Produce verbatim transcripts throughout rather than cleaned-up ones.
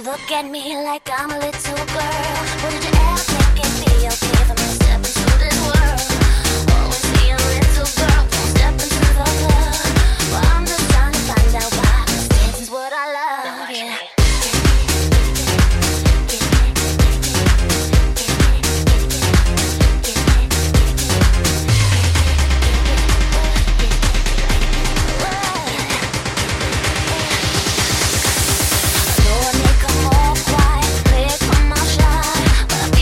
look at me like I'm a little girl. Would you ever think it'd be okay for me to step into this world? Always be a little girl, don't step into the club. Well, I'm just trying to find out why, 'cause dancing's what I love, yeah. But I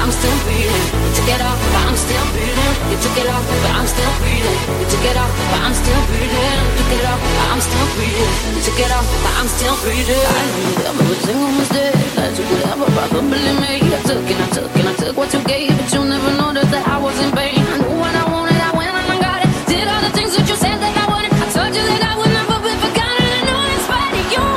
I'm still breathing. You took it off, but I'm still breathing. You took it off, but I'm still breathing. You took it off, but I'm still breathing. You took it off, but I'm still breathing. You took it off, but I'm still breathing. I knew that every single mistake that you could ever probably make. I took and I took and I took what you gave, but you never noticed that I was in pain. I knew what I wanted, I went and I got it. Did all the things that you said that I wanted. I told you that I would never be forgotten. I know in spite of you.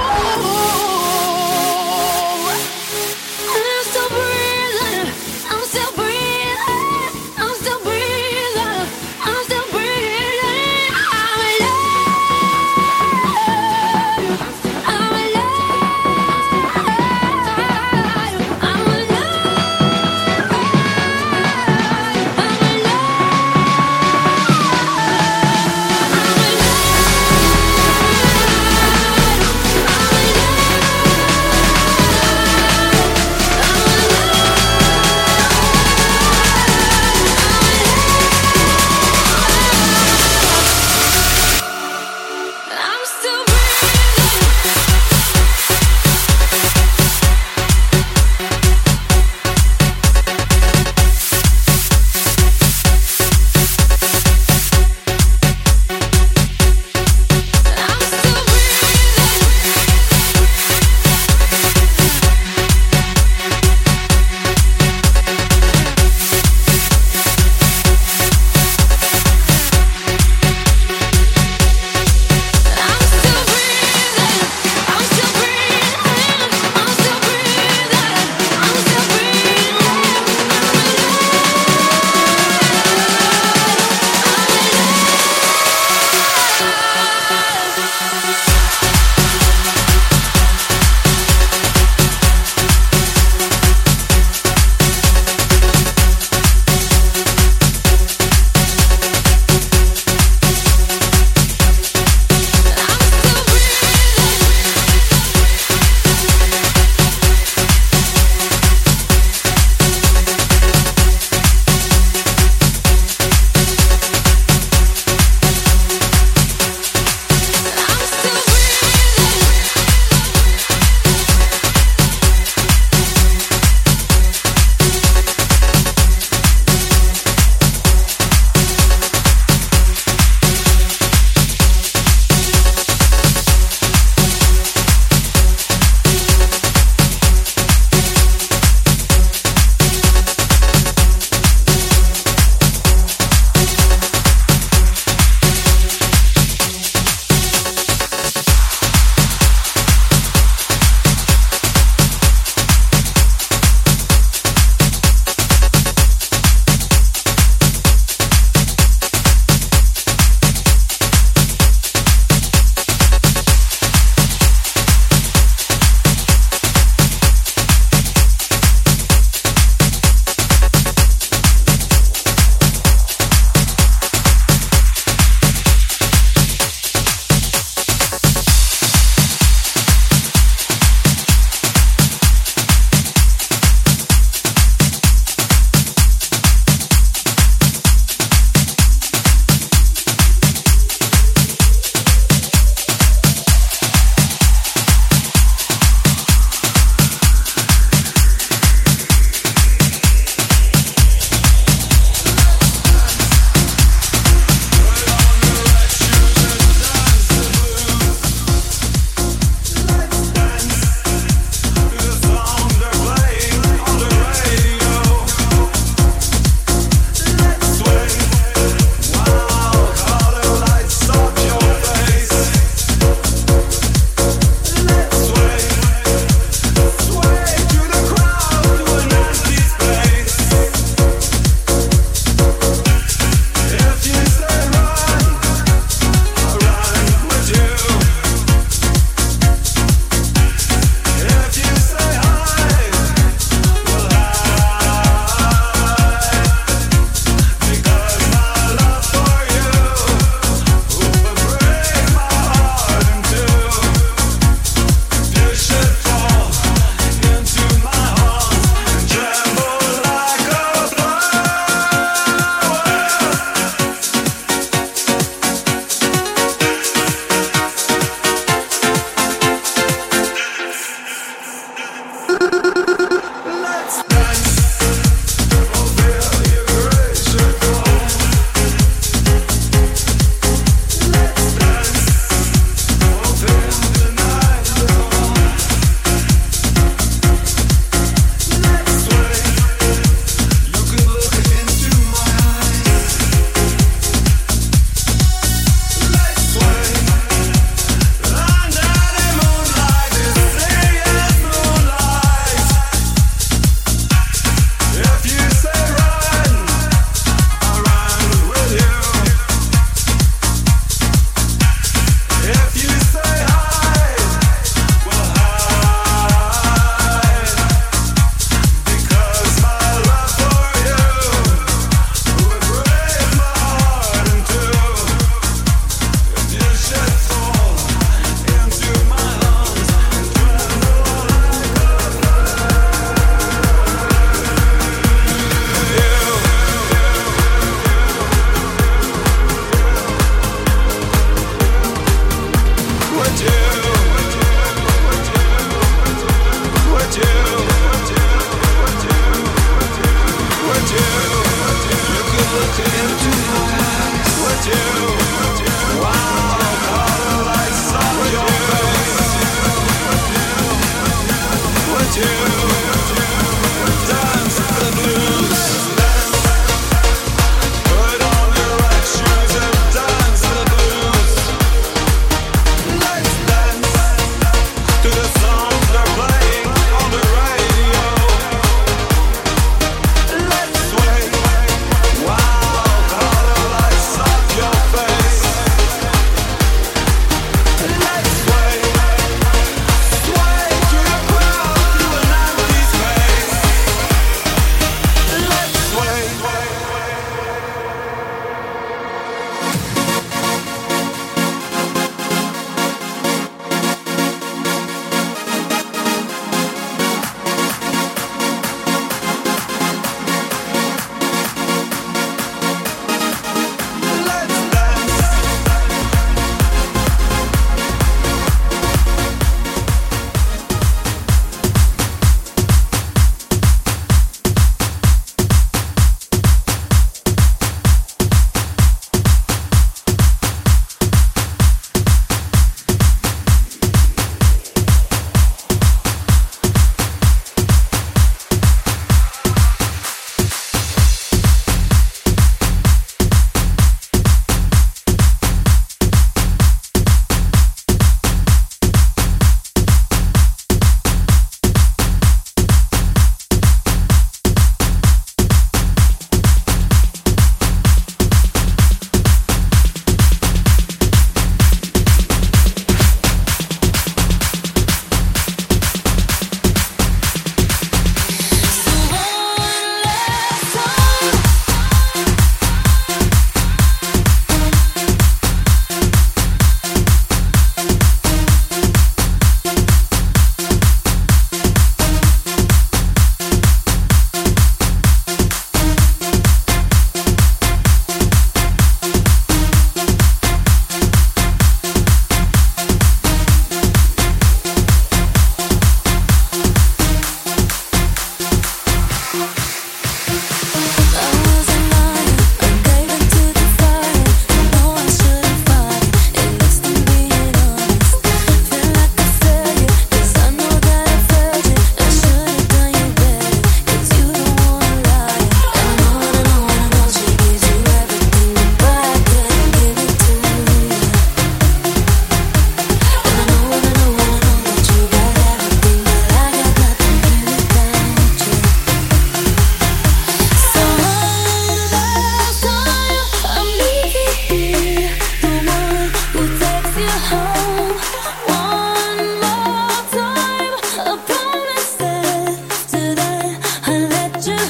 I'm still breathing. I'm still breathing. I'm still breathing. I'm still breathing. I'm alive. I'm alive. I'm alive.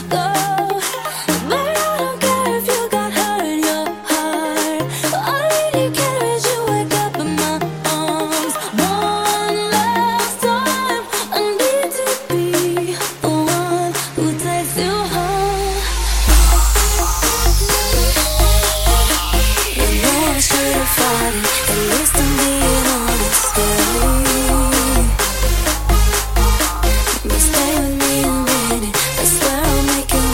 Stay with me a minute. I swear I'll make it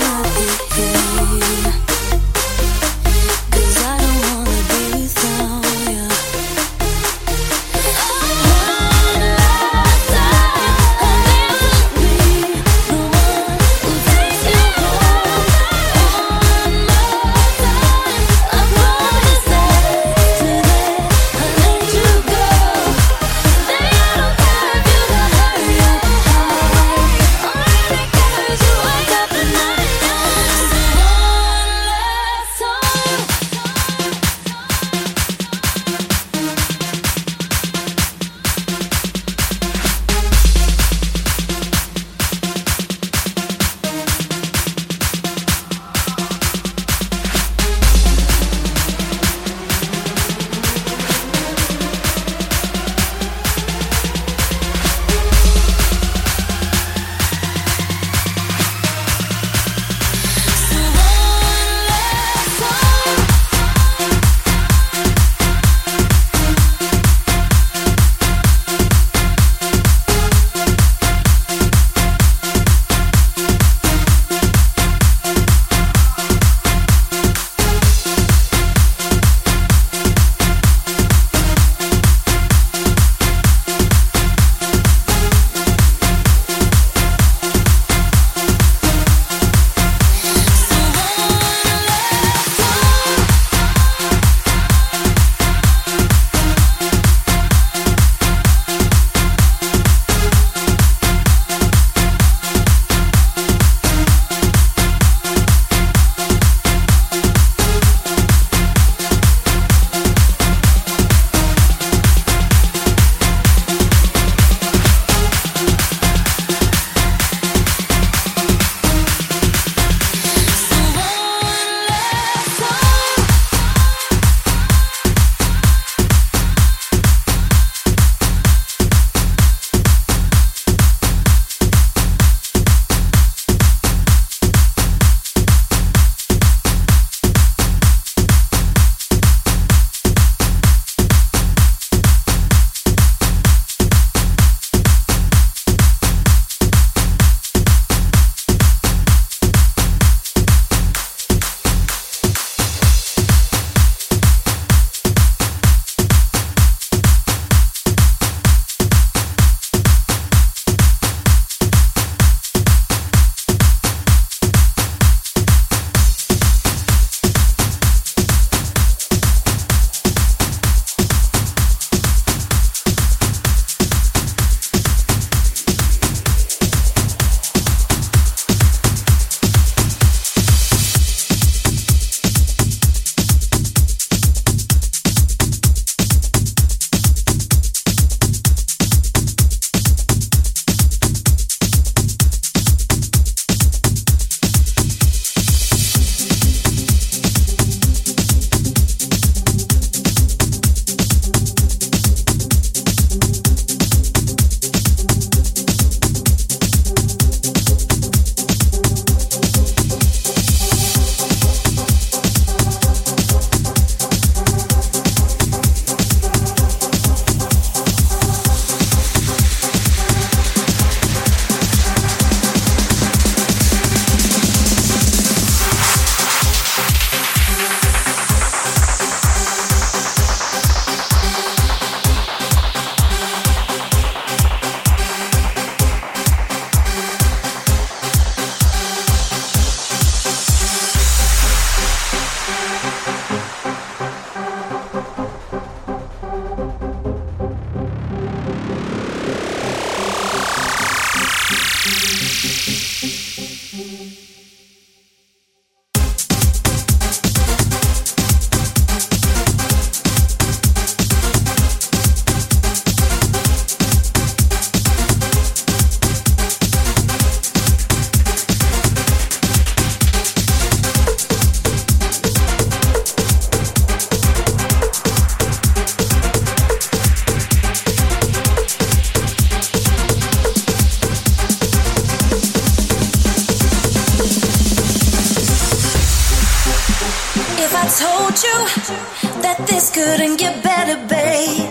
If I told you that this couldn't get better, babe,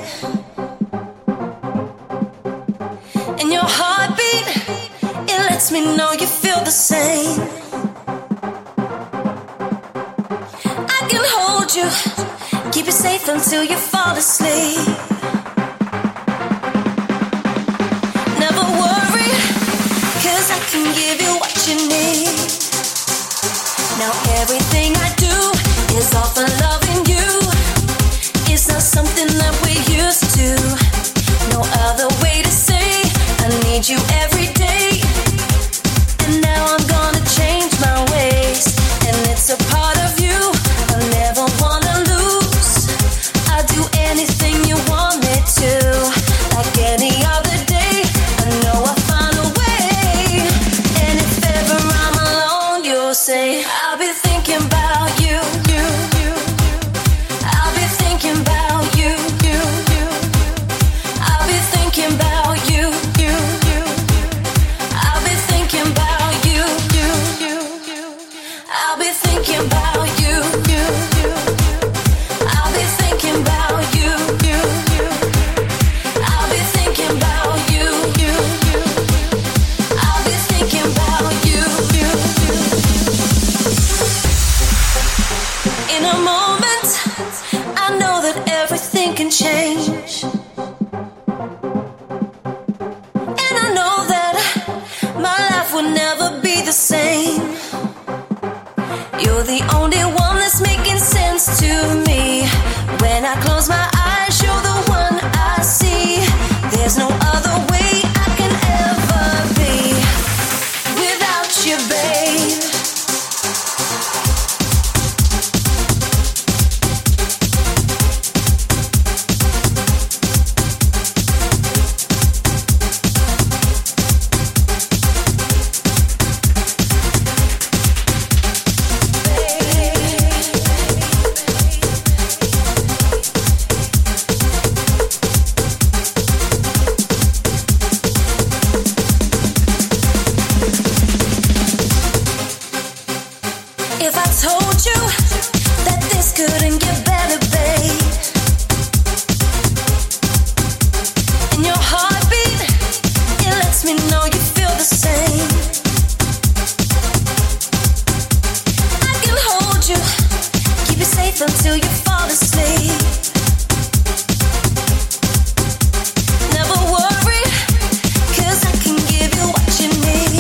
and your heartbeat, it lets me know you feel the same. I can hold you, keep you safe until you fall asleep. Never worry, 'cause I can give you what you need. Now everything I do is all for loving you. It's not something that we're used to. No other way to say I need you every day. And now I'm gonna change my ways, and it's a part of you I never wanna lose. I'll do anything you want me to. Like any other day, I know I'll find a way. And if ever I'm alone, you'll say I'll be thinking about you, you, you. I'll be thinking about you, you, you. I'll be thinking about you, you, you. I'll be thinking about you, you, you, you. I'll be thinking about you, you, you. I'll be thinking about you, you, you. I'll be thinking about you, you, you. I'll be thinking about you, you, you. In a moment, I know that everything can change. And I know that my life will never be the same. You're the only one that's making sense to me. When I close my eyes, you're the one I see. There's no other way I can ever be without you, babe. If I told you that this couldn't get better, babe, and your heartbeat, it lets me know you feel the same. I can hold you, keep you safe until you fall asleep. Never worry, 'cause I can give you what you need.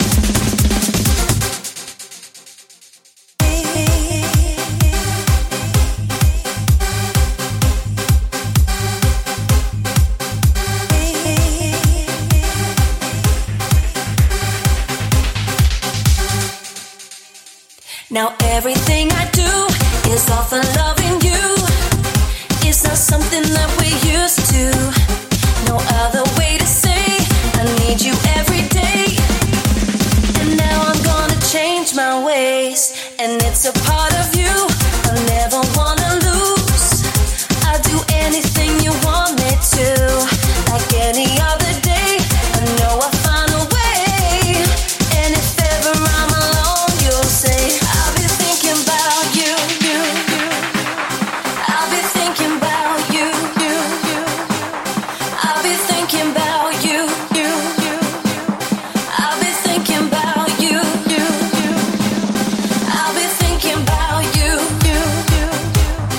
Now everything I do is all for loving you. It's not something that we're used to. No other way to say I need you every day. And now I'm gonna change my ways, and it's a part of you I never wanna lose. I'll do anything you want me to. Like any other day, I know I'll find a way. And if ever I'm alone, you'll say I'll be thinking about you, you, you. I'll be thinking about you, you, you. I'll be thinking about you, you, you. I'll be thinking about you, you, you. I'll be thinking about you, you, you.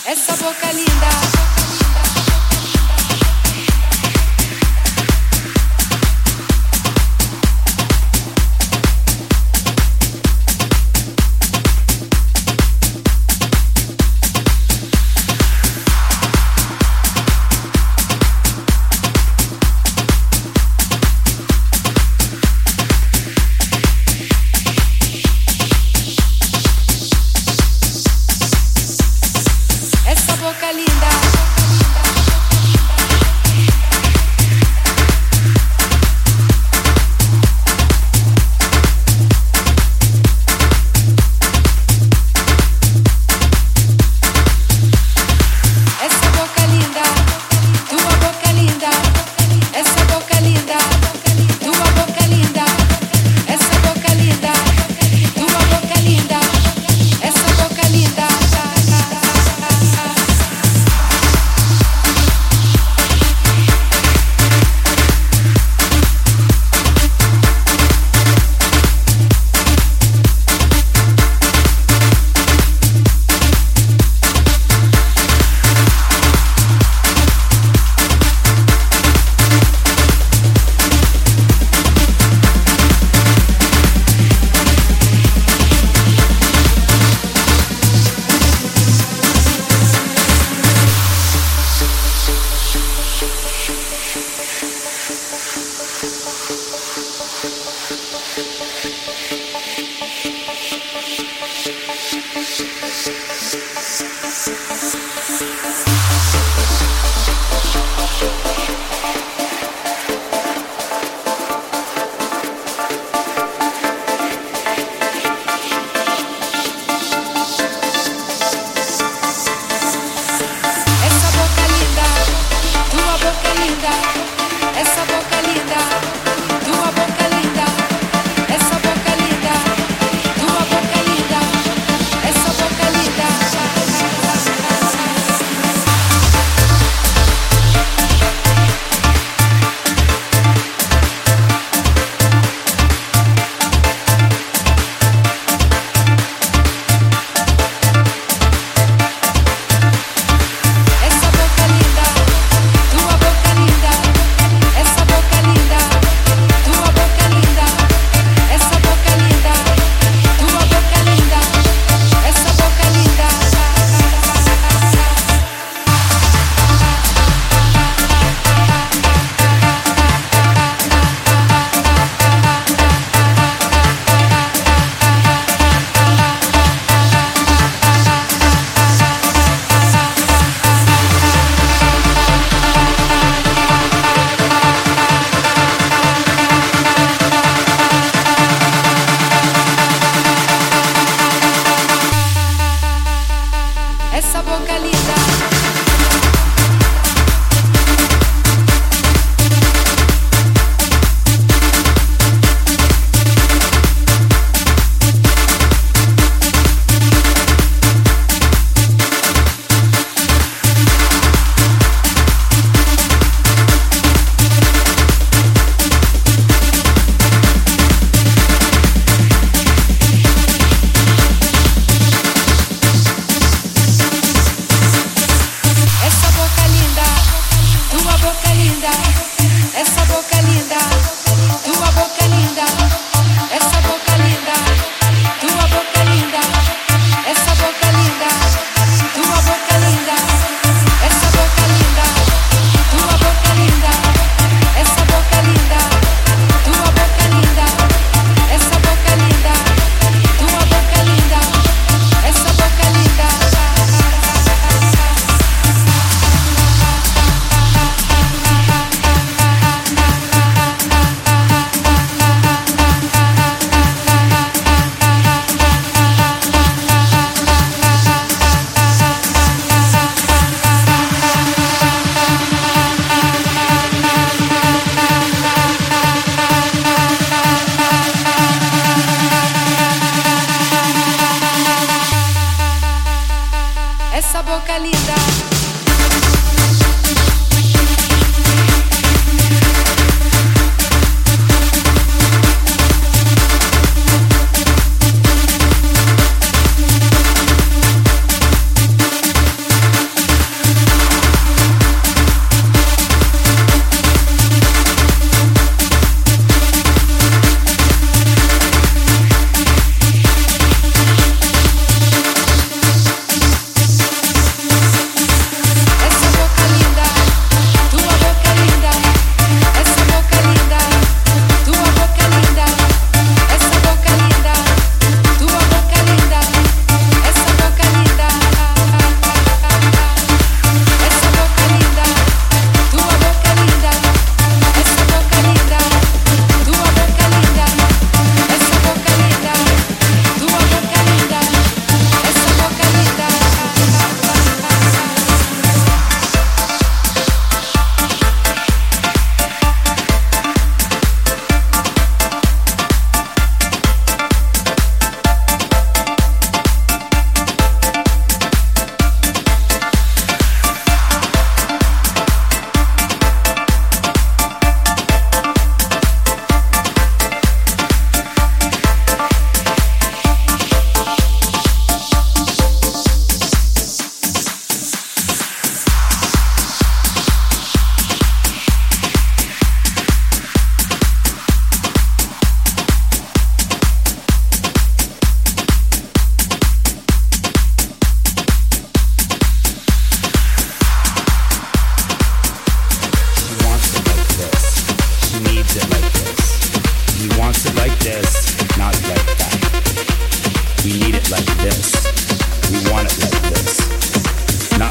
essa boca linda.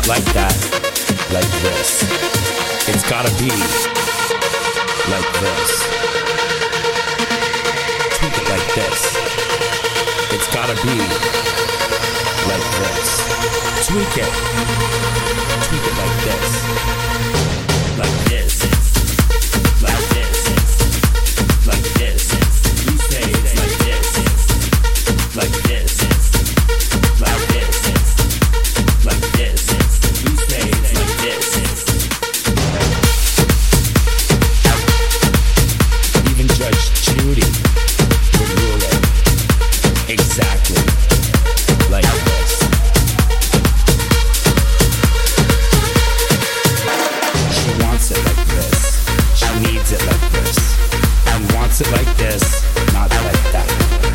like that, like this. It's gotta be like this. Tweak it like this. It's gotta be like this. Tweak it. Tweak it like this. Like this. Like this. Like this. You say it's like this. Like this. Like this. Like this. You say it's like this. Even Judge Judy would rule it exactly like this. She wants it like this. She needs it like this. And wants it like this, not like that.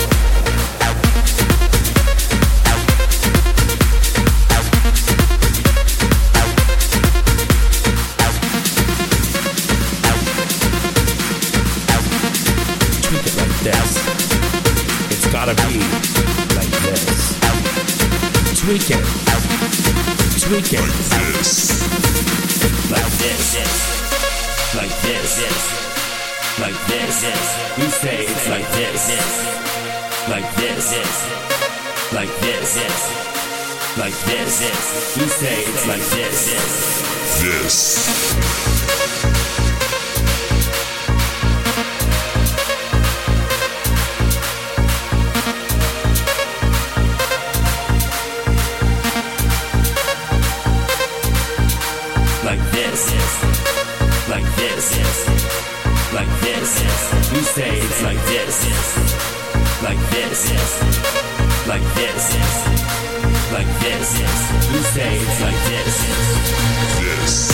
Tweak it like this. It's gotta be like this. Tweak it. Tweak it. Like this. Like this. Like this. You say it's like this. Like this. Like this. Like this. You say it's like this. This. Like this, like this, like this. You say it's like this, like this, like this, like this. You say it's like this. This.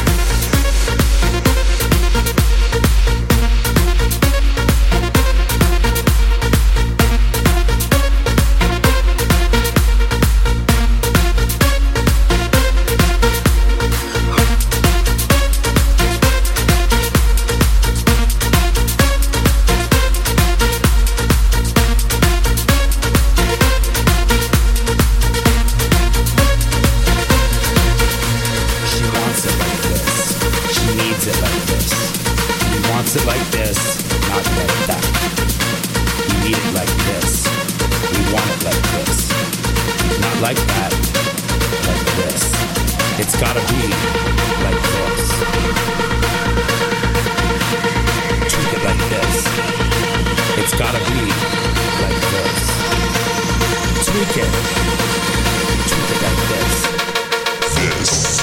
It like this, not like that. We need it like this. We want it like this. Not like that, like this. It's gotta be like this. Treat it like this. It's gotta be like this. Tweak it. Treat it like this. This.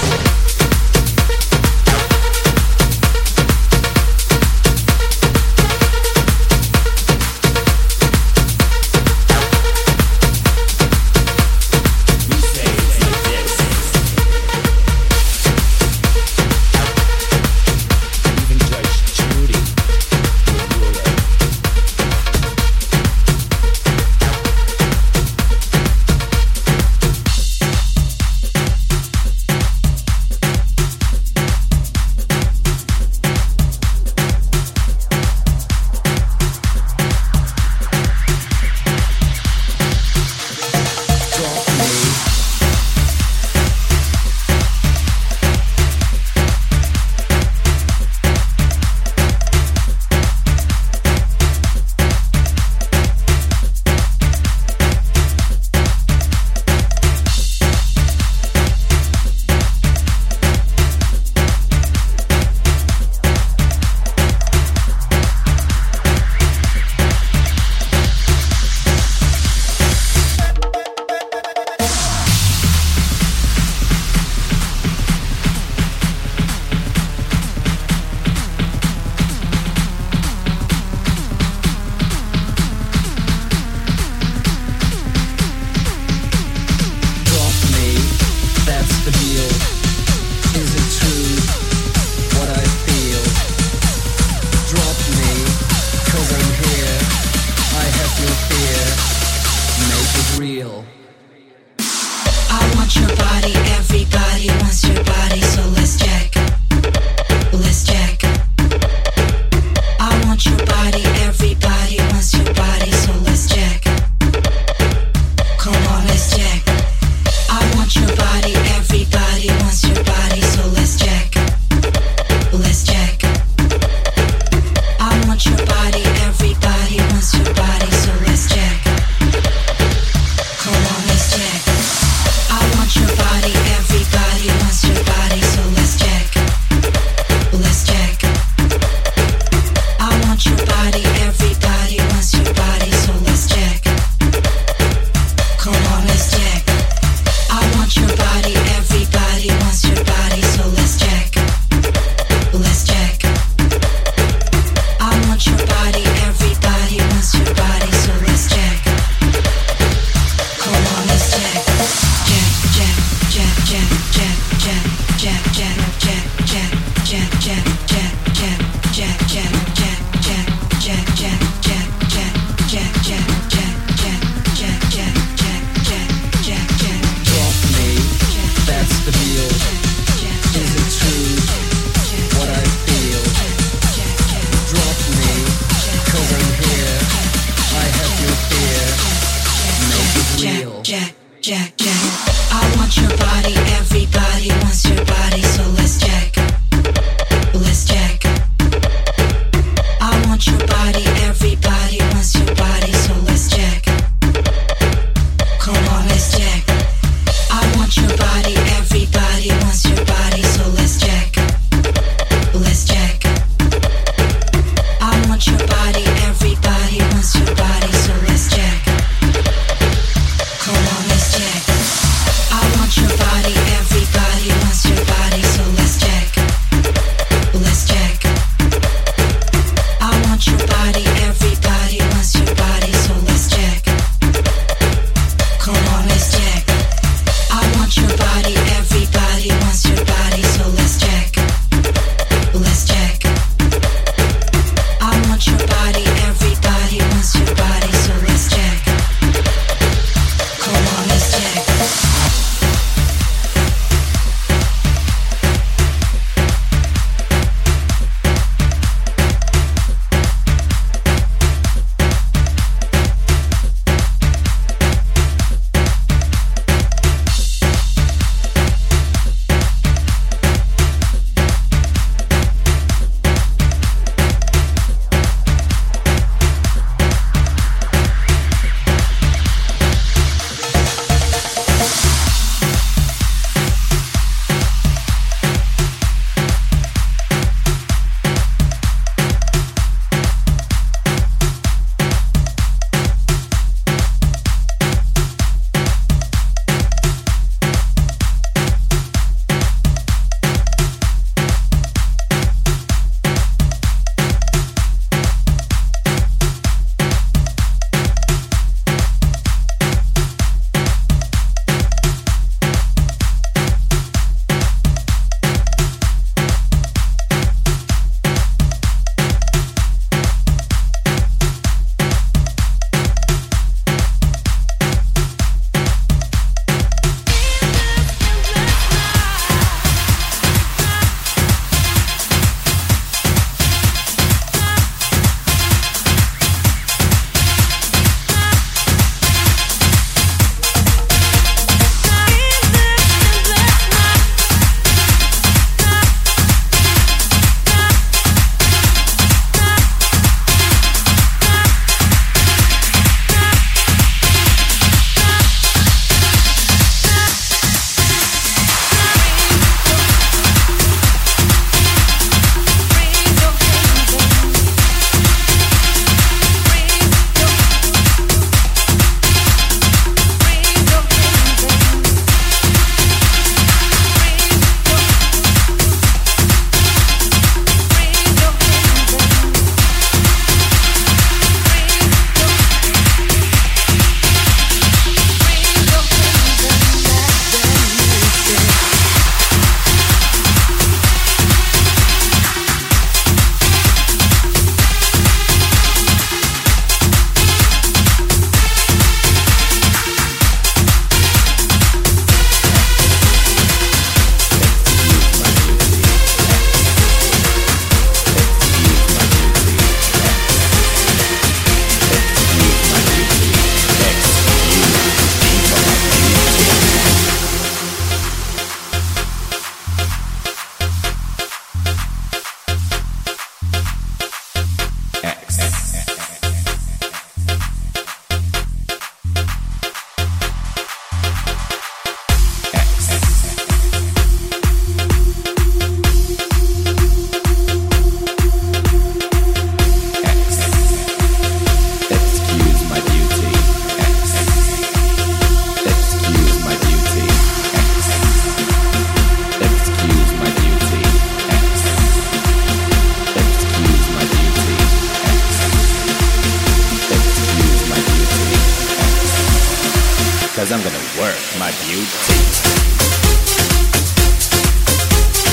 'cause I'm gonna work my beauty.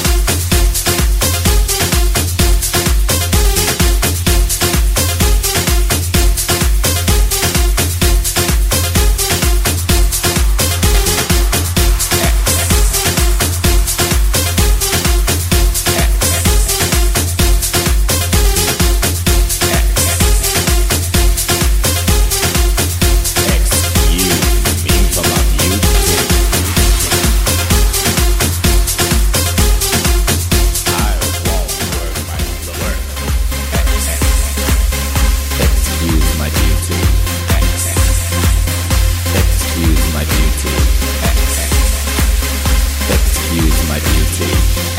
beauty.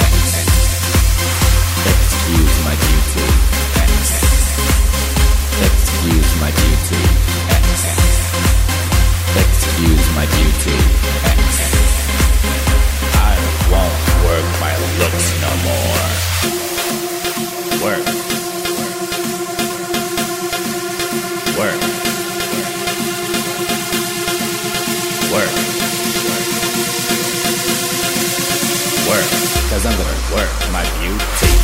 Excuse my beauty. Excuse my beauty. Excuse my beauty. I won't work my looks no more. Work. Work. Work. Work. Cause I'm gonna work my beauty.